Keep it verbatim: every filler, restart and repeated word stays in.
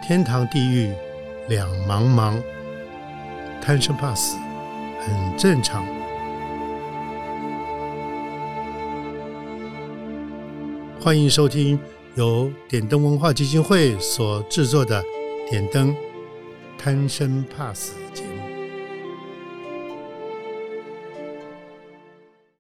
天堂地狱两茫茫，贪生怕死很正常。欢迎收听由点灯文化基金会所制作的点灯贪生怕死节目。